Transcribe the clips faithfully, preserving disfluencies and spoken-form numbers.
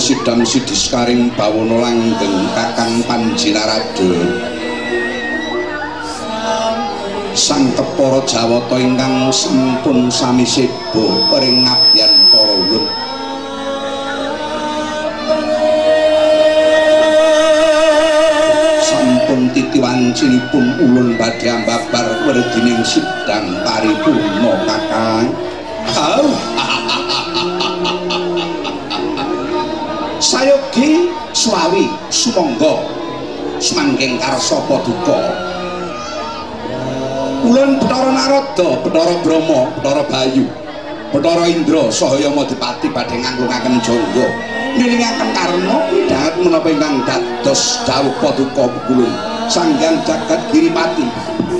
sidang sidiskaring bawana langgeng Kakang Panji Narada sang kepara Jawata ingkang sampun sami seba pering ngabyan para ulun sampun titiwancinipun ulun badhe ambabar werdining sidang paripurna Kakang. Oh. Sayogi suawi sumangga sumanggeng karsa paduka ulun Bathara Narada, Bathara Brahma, Bathara Bayu, Bathara Indra saha Yamadipati badhe nganglungaken jangga nilingaken karna midhanget menapa ingkang dados dawuh paduka ulun Sanghyang Jagat Giripati.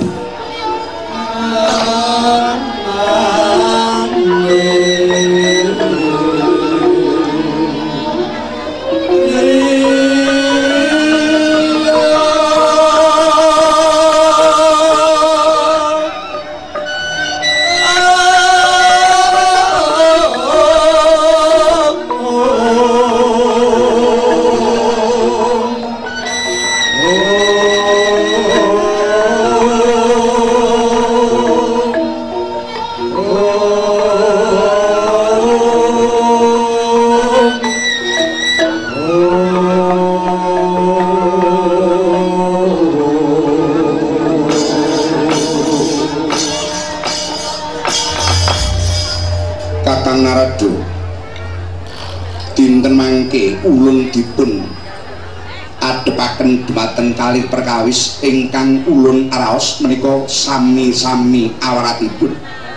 Ulun dipun adepaken dumateng kalih perkawis ingkang ulun araos menika sami-sami awaratipun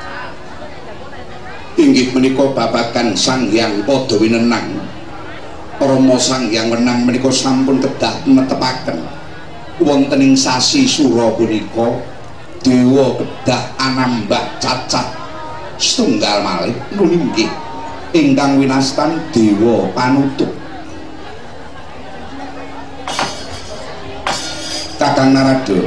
inggih menika babagan Sanghyang Padawinenang. Rama Sanghyang Wenang menika sampun kedah netepaken wonten ing sasi Sura punika dewa kedah anambah cacah setunggal malih nulinggih ingkang winastan dewa panutup. Kakang Narada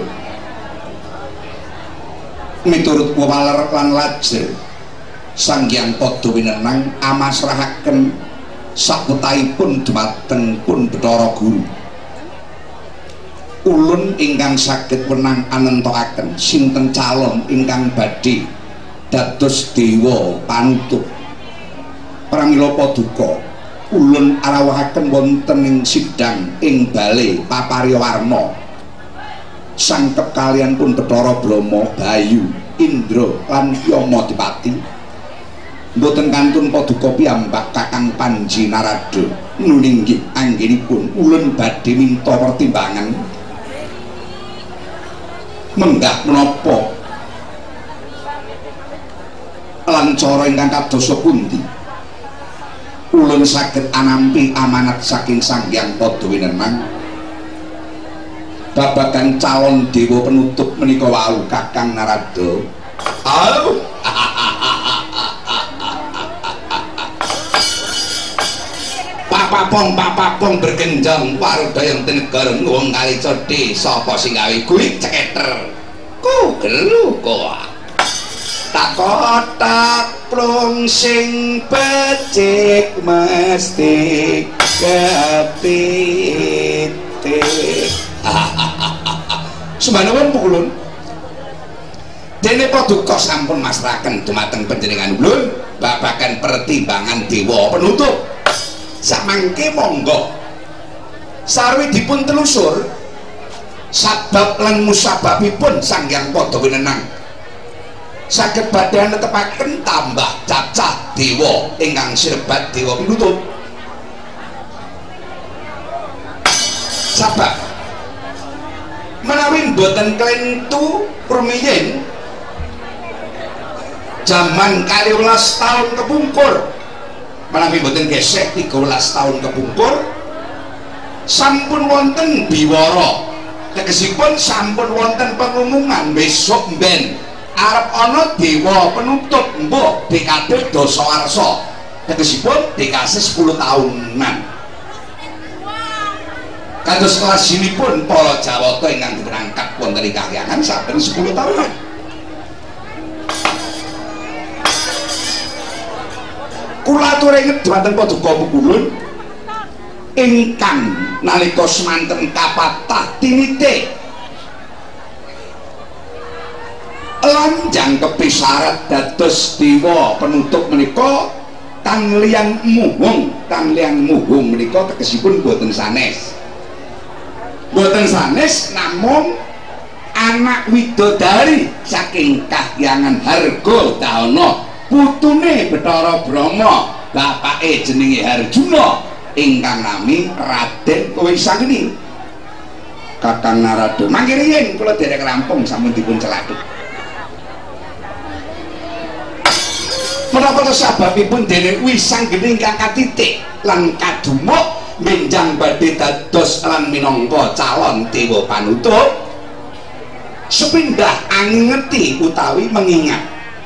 miturut waler lan lajer Sanghyang Padawinenang amasrahaken sakutahipun dumateng pun Bathara Guru ulun ingkang saged wenang anentokaken sinten calon ingkang badhe dados dewa panutup. Pramila paduka ulun arawahaken wonten ing sidang ing bale paparyawarna sangkep kalian pun Bathara Brahma, Bayu, Indra lan Yamadipati mboten kantun paduka piyambak Kakang Panji Narada nulinggih anggenipun ulun badhe minta pertimbangan menggah menapa lan cara ingkang kadosa pundi ulun saged anampi amanat saking Sanghyang Padawinenang babagan calon dewa penutup menika wau Kakang Narada. Oh. Papapong papapong bergenjang warudaya negara wong kali cedhi sapa sing gawe kuwi ceketer ku gelu kok takotak plung sing becik mesti kepitik. Sumanawan pukulun dene paduka sampun masrahaken dumateng panjenengan ulun babagan pertimbangan dewa penutup samangke monggo sarwi dipun telusur sabab lan musababipun Sanghyang Padawinenang saged badhe netepaken tambah cacah dewa ingkang sirebat dewa penutup sabab menawi mboten klentu rumiyin jaman kalihwelas tahun kepungkur menawi mboten gesek tiga belas tahun kepungkur sampun wonten biwara tegesipun sampun wonten pengumuman besok mben arep ana dewa penutup mbok dekade dasawarsa tegesipun dekade sepuluh tahunan kados kelas ini pun para Jawata ingkang diberangkat wonten ing kahyangan saben sepuluh tahunan kula atur inget dhumateng paduka pukulun ingkang nalika semanten kapatah tinite lanjang kepisarat dados dewa penutup menika kang liang muhung kang liang muhung menika tegesipun boten sanes boten sanes namung anak widodari saking kahyangan Hargadana putune Bathara Brahma bapake jenenge Harjuna ingkang nami Raden Wisanggeni Kakang Narada mangke riyin kula derek rampung sampun dipun celakuk menapa sebabipun dene Wisanggeni ingkang katitik lan kadumuk menjang badhe dados lan minangka calon dewa panutup sepindah angeti utawi mengingat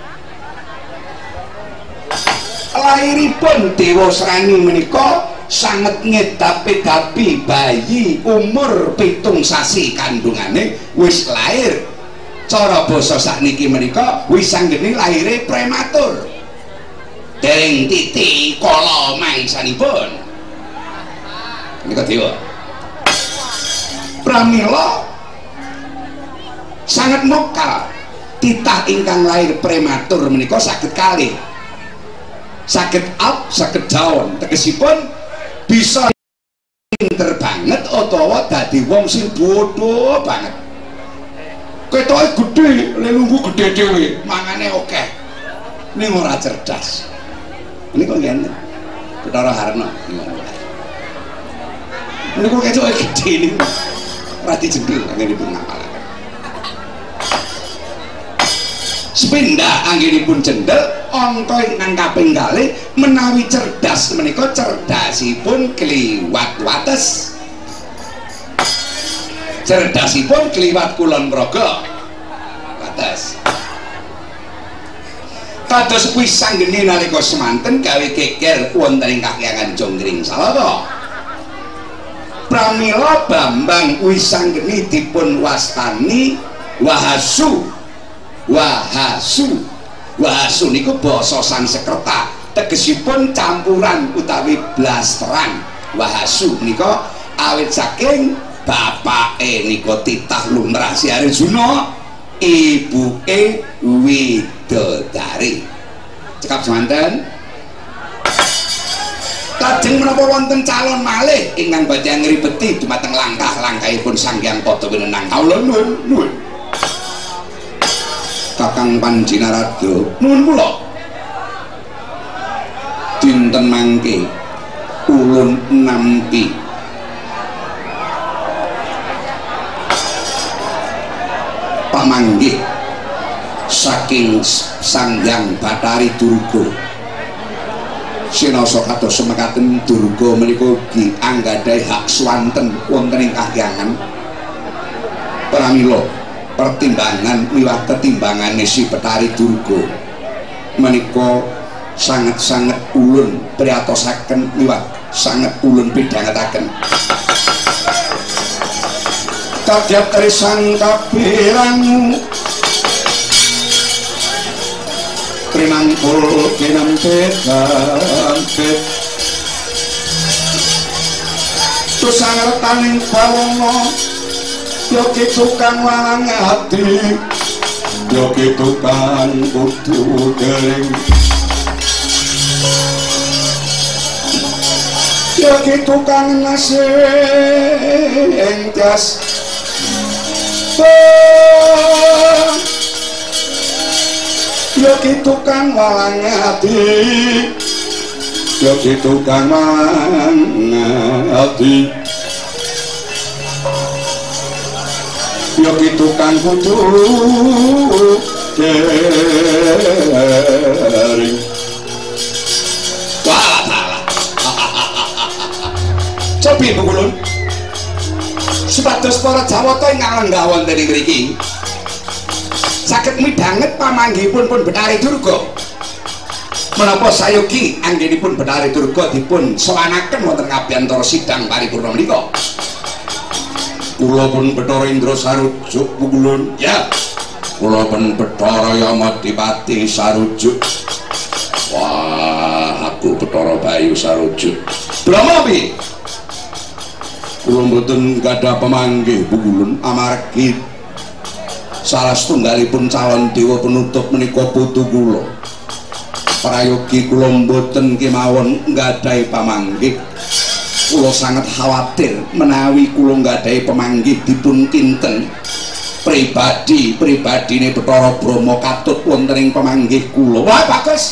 lairipun Dewa Srani menika sanget ngedapi-dapi bayi umur pitung sasi kandungane wis lair cara basa sakniki menika Wisanggeni lahire prematur dereng titi kala mangsanipun menika dewa pramila sangat mokal titah ingkang lahir prematur menika saged kalih saged up saged down tegesipun bisa pinter banget utawa dadi wong sing bodoh banget ketoke gedhe lelunggu gedhe dhewe mangane akeh ning ora cerdas niku ngene Bathara Harna niku ketoke gedhe niku ora dijengkel anggenipun ngapal sepindah anggenipun cendhel angka ingkang kaping kalih menawi cerdas menika cerdasipun kliwat wates cerdasipun kliwat kulon praga wates kados Wisanggeni nalika semanten gawe geger wonten ing kahyangan Jonggring Salaka pramila Bambang Wisanggeni dipun wastani Wahasu Wahasu Wahasu niku basa Sanskerta tegesipun campuran utawi blasteran Wahasu nika awit saking bapake nika titah lumrah Si Arjuna ibuke widodari cekap semanten lajeng menapa wonten calon malih ingkang badhe ngribeti dumateng langkah-langkahipun Sanghyang Padawinenang kawula nuwun nuwun Kakang Panji Narada nuwun kula dinten mangke ulun nampi pamanggih saking Sanghyang Bathari Durga sinasa kados semekaten Durga menika ugi anggadhahi hak swanten wonten ing kahyangan pramila pertimbangan miwah ketimbangan si Bathari Durga menika sangat-sangat ulun priyatosaken miwah sangat ulun pidhangetaken kadyat risang kapiranmu trinangkul kinampedampet tusangertaning bawana yoki tukang walang hati yoki tukang kudu gering yoki tukang nasing tias yoki tukang walang hati yoki tukang walang hati yoki tukang kudu kering walah walah cobi pengulun sepados para Jawata ingkang lenggah wonten ing mriki saged midhanget pamanggihipun pun Bathari Durga menapa sayogi anggenipun Bathari Durga dipun sowanaken wonten ngabiyantara sidang paripurna menika kula pun Bathara Indra sarujuk pungulun ya kula pun Bathara Yamadipati sarujuk wah aku Bathara Bayu sarujuk Brahma piye kula mboten gadah pamanggih Pungkulun amargi salah setunggalipun calon dewa penutup menika putu kula. Prayogi kula mboten kemawon nggadahi pamanggih. Kula sangat khawatir menawi kula nggadahi pamanggih dipun kinten pribadi pribadine Bathara Brahma katut wonten ing pamanggih kula. Wah bagus.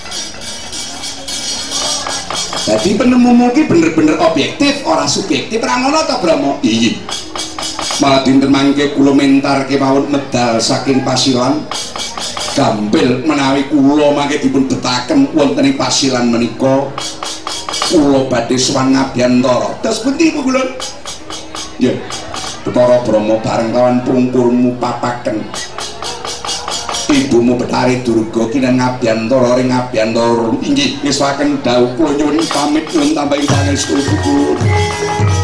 Jadi penemumu ki bener-bener objektif, ora subjektif, ora ngono ta Brahma? Iya. Malah dinten mangke kula mentar kemawon medal saking Pasilan. Gampil menawi kula mangke dipun betaken wonten ing Pasilan menika kula badhe sowan Ngabyantara. Terus pundi Pungkulun? Ya. Bathara Brahma bareng kawan pungkurmu papaken. Ibumu Betari Durga kinan Ngabyantara ring Ngabyantara inggih ngesaken dawuh kula nyuwun pamit nuwun tambahi pangestu.